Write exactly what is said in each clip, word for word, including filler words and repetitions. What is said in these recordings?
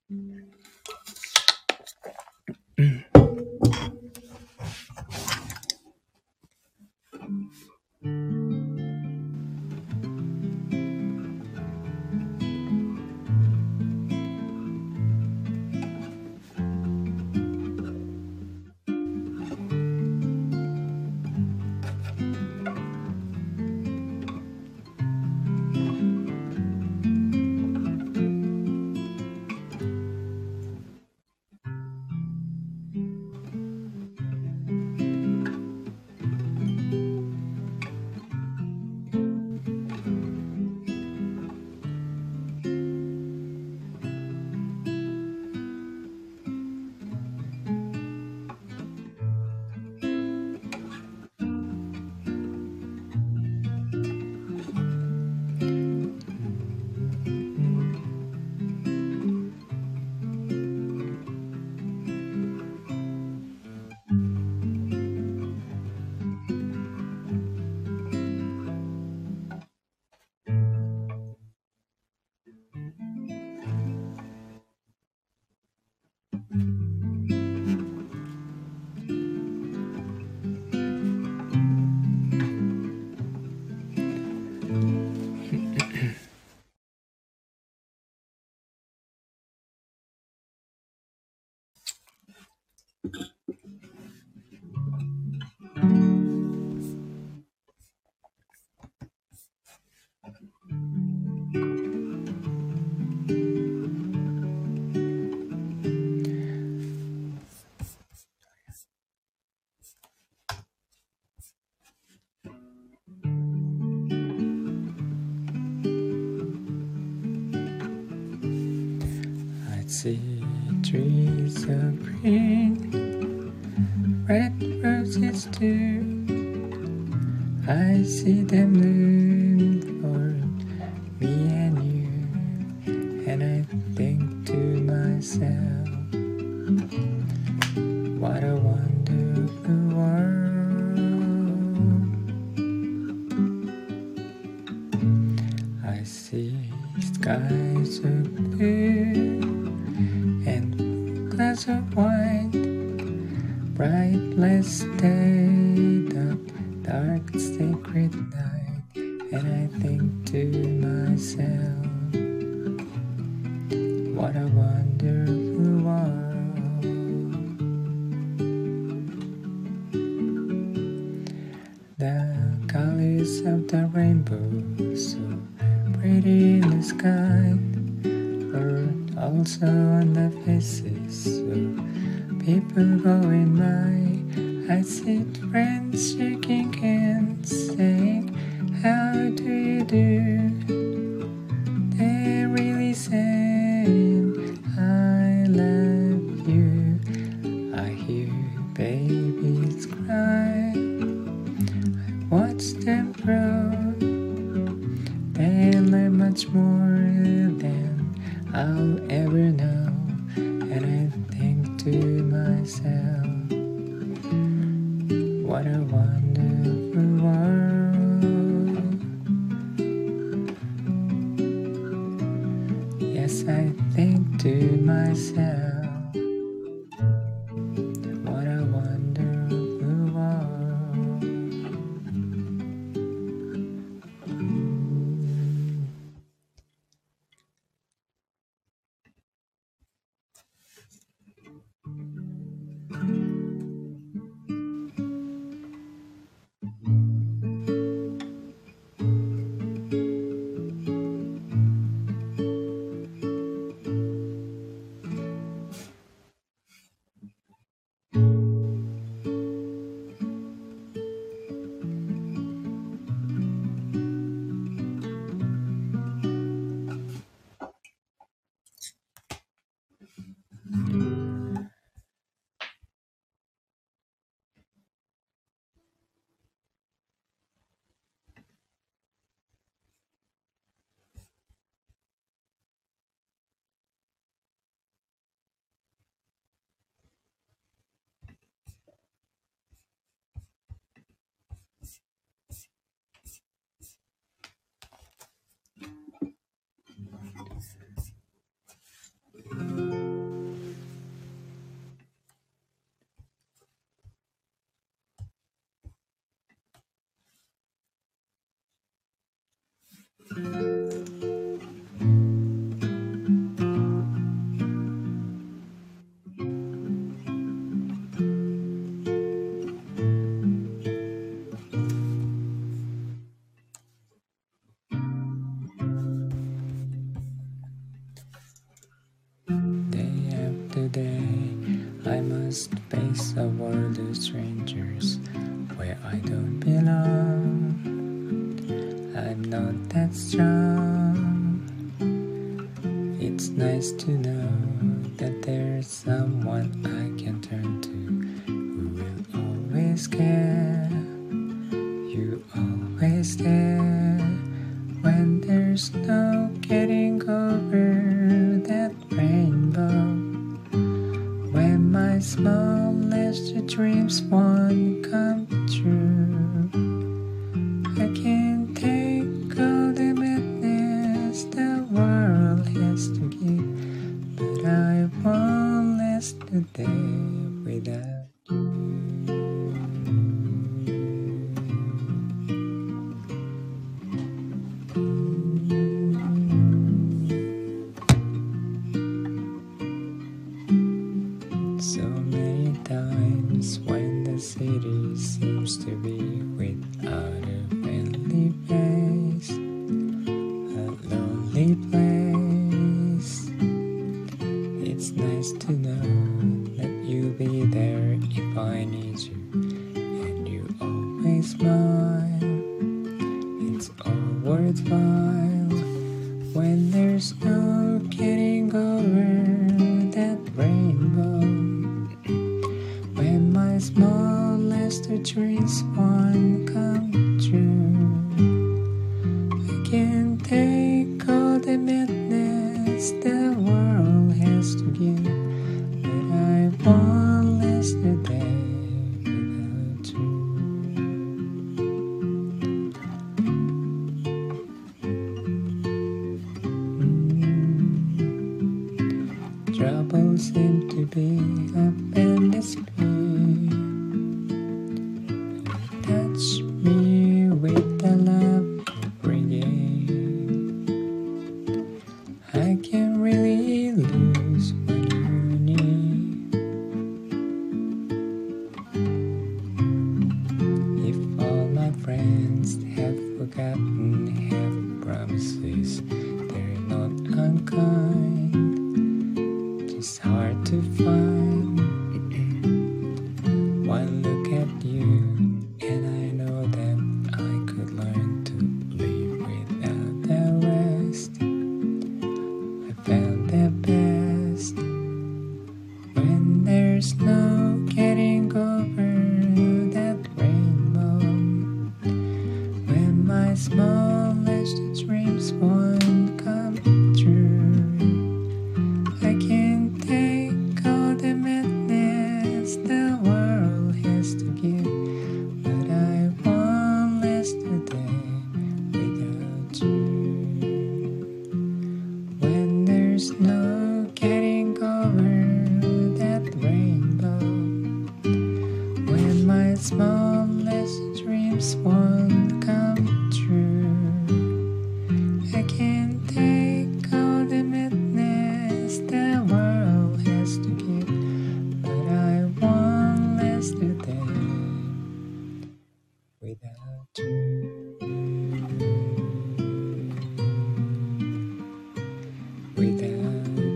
I see trees of green, red roses too. I see them bloom for me and you, and I think to myself, what a wonderful world. I see skies of blue and clouds of white, bright blessed day, the dark sacred night, and I think to myself, what a wonderful world. The colors of the rainbow, so pretty in the sky, are also on the faces of people going by. I see friends shaking hands, saying, how do you do? They're really saying, I love you. I hear babies cry, I watch them grow. They learn much more than I'll ever know, and I think to myself, what a wonderful world. Yes, I think to myself, what a wonderful world. day I must face a world of strangers where I don't belong. I'm not that strong. It's nice to know that there's someone I can turn to who will always care. You always there when there's no getting over that rainbow. When my smallest dreams won't come true, I can't take all the madness the world has to give, but I won't last a day without you. So many times when the city seems to be without a friendly face, a lonely place, it's nice to know that you'll be there if I need you, and you always smile. It's all worthwhile when there's no getting over that rainbow. When my smallest dreams won't come true, I can't take all the madness the world has to give, but I won't last a day without you. mm. Trouble seems to be up and it's touch me with the love you're bringing. I can't really lose what you need. If all my friends have forgotten half promises, they're not unkind, just hard to find. One look at you and I know that I could learn to live without the rest. I found the best when there's no getting over that rainbow. When my smallest dreams won't come true, I can't take all the madness the world has to give, but I won't last a day without you. When there's no getting over that rainbow, when my smallest dreams won't come true, I can't take all the madness the world has to give, but I won't last a day without you. Without you.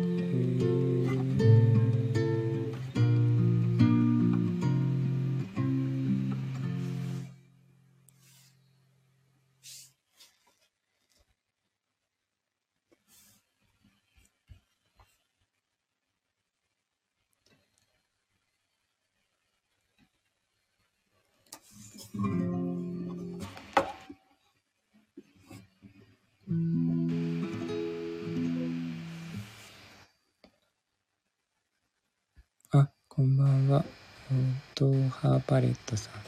あ、こんばんは。ドーハーパレットさん。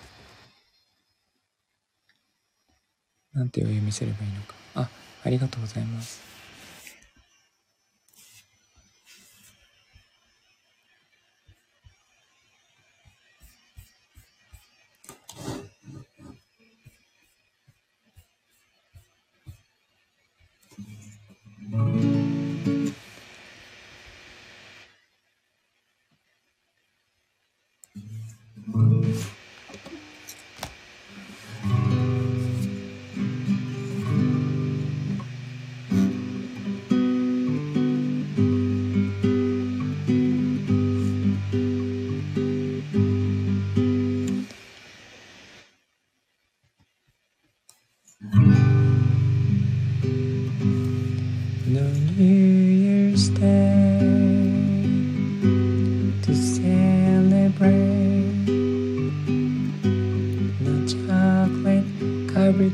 なんてお読みすればいいのか。あ、ありがとうございます。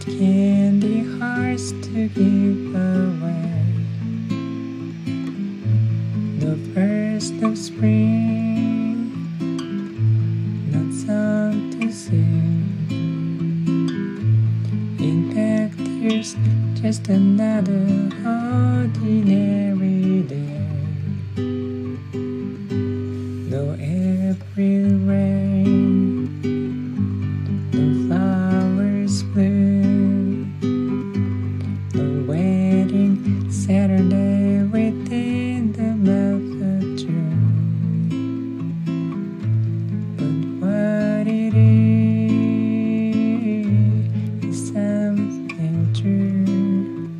candy hearts to give away. The first of spring, not song to sing. In fact, here's just another ordinary day. No April rain, no flowers bloom, no wedding Saturday within the month of June. But what it is is something true,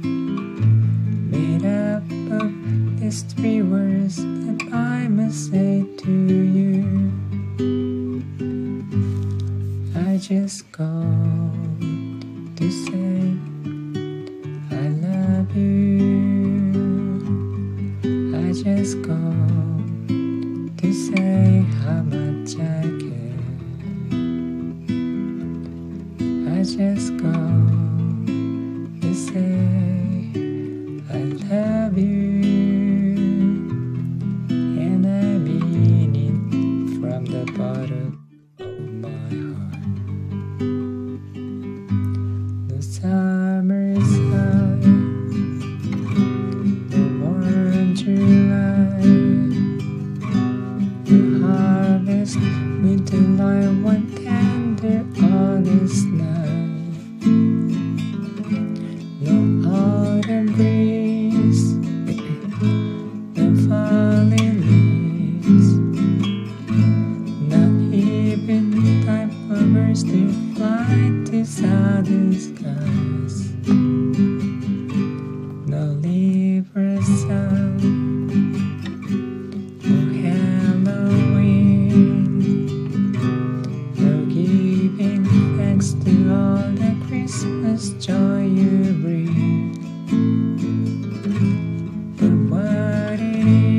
made up of these three words that I must say to you. I just called to say I love you. I just called to say how much I care. I just called to say I love you, and I mean it from the bottom of my heart. The summer's high, the warm July, the harvest with the light one tender August night. No autumn breeze, no falling leaves, not even time for birds to fly to southern skies. No Libra sun, no Halloween, no giving thanks to all the Christmas joy you bring. But what it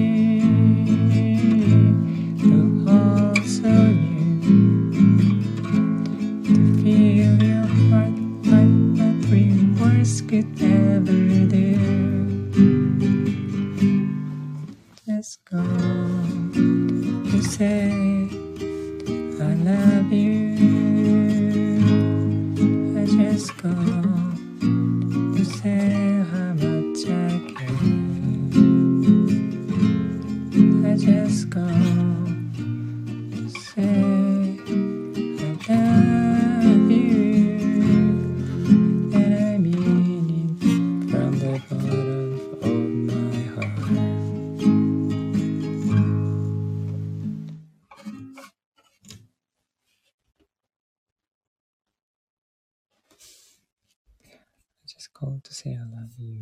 is, so also new, to feel your heart like the three words could ever do. Just go to say I love you. I just go to say how much I care. I just go to say I love you, and I mean it from the bottom of my heart. I just called to say I love you.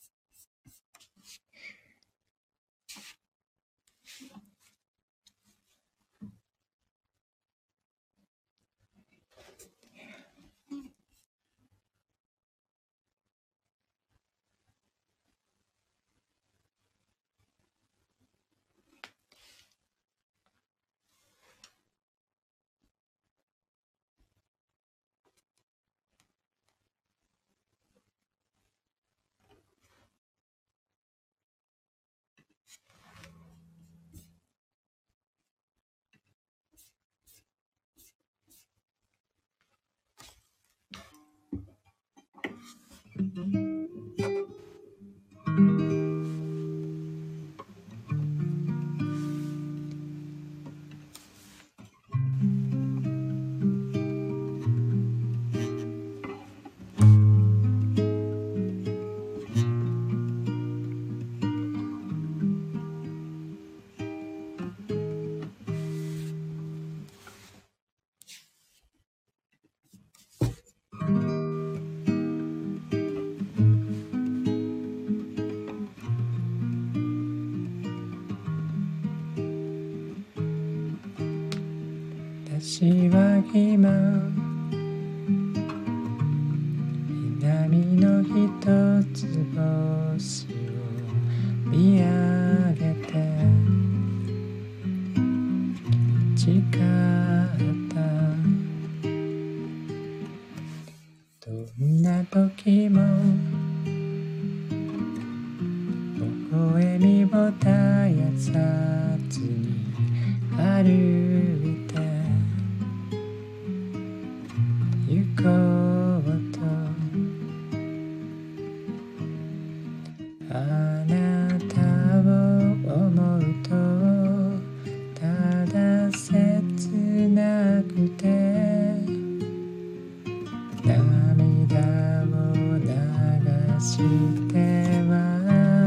私は今南の一つ星を見上げて誓ったどんなずに歩いて行こうとあなたを思うとただ切なくて涙を流しては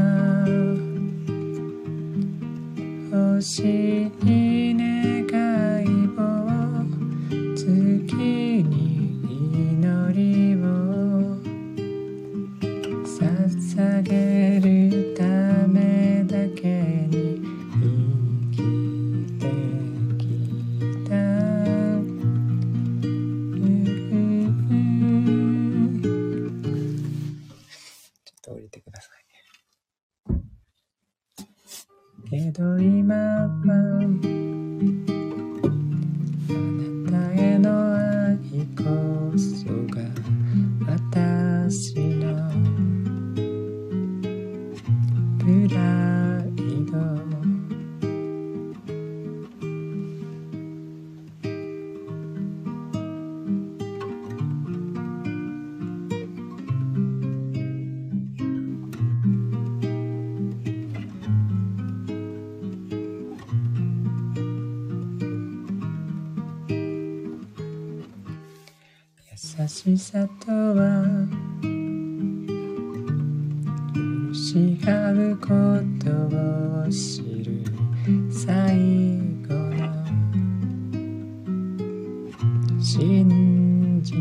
欲しい願いを月に祈りを捧げるためだけに生きてきたちょっと降りてくださいけど今はあなたへの愛こそが私のプライド優しさとは許し合うことを知る最後の真実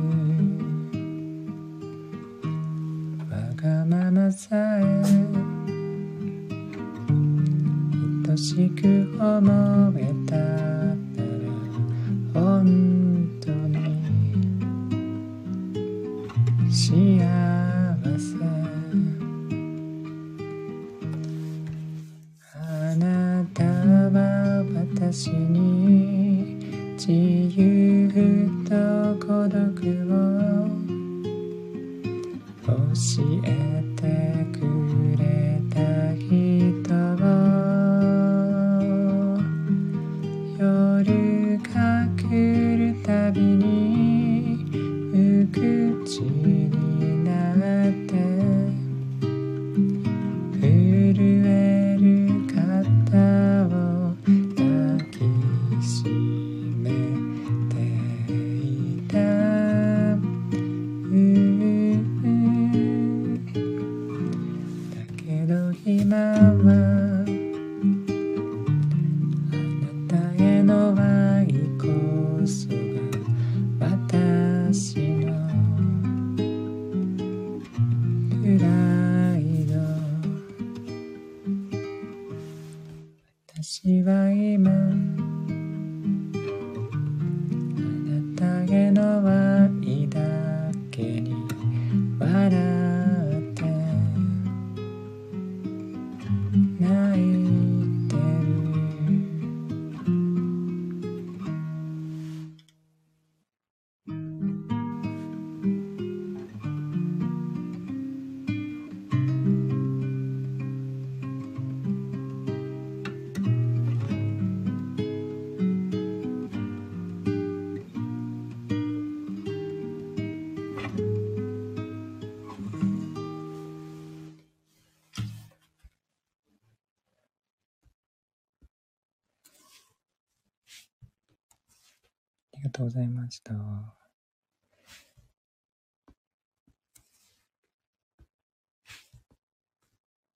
わがままさえ愛しく思えたなら本当に幸せあなたは私に自由と孤独を教えてくれた人を夜が来るたびに無口になって震える肩を抱きしめていただけど今はあなたへの愛こそが私のプライド私は今あなたへの愛だけに笑って泣いてるありがとうございました。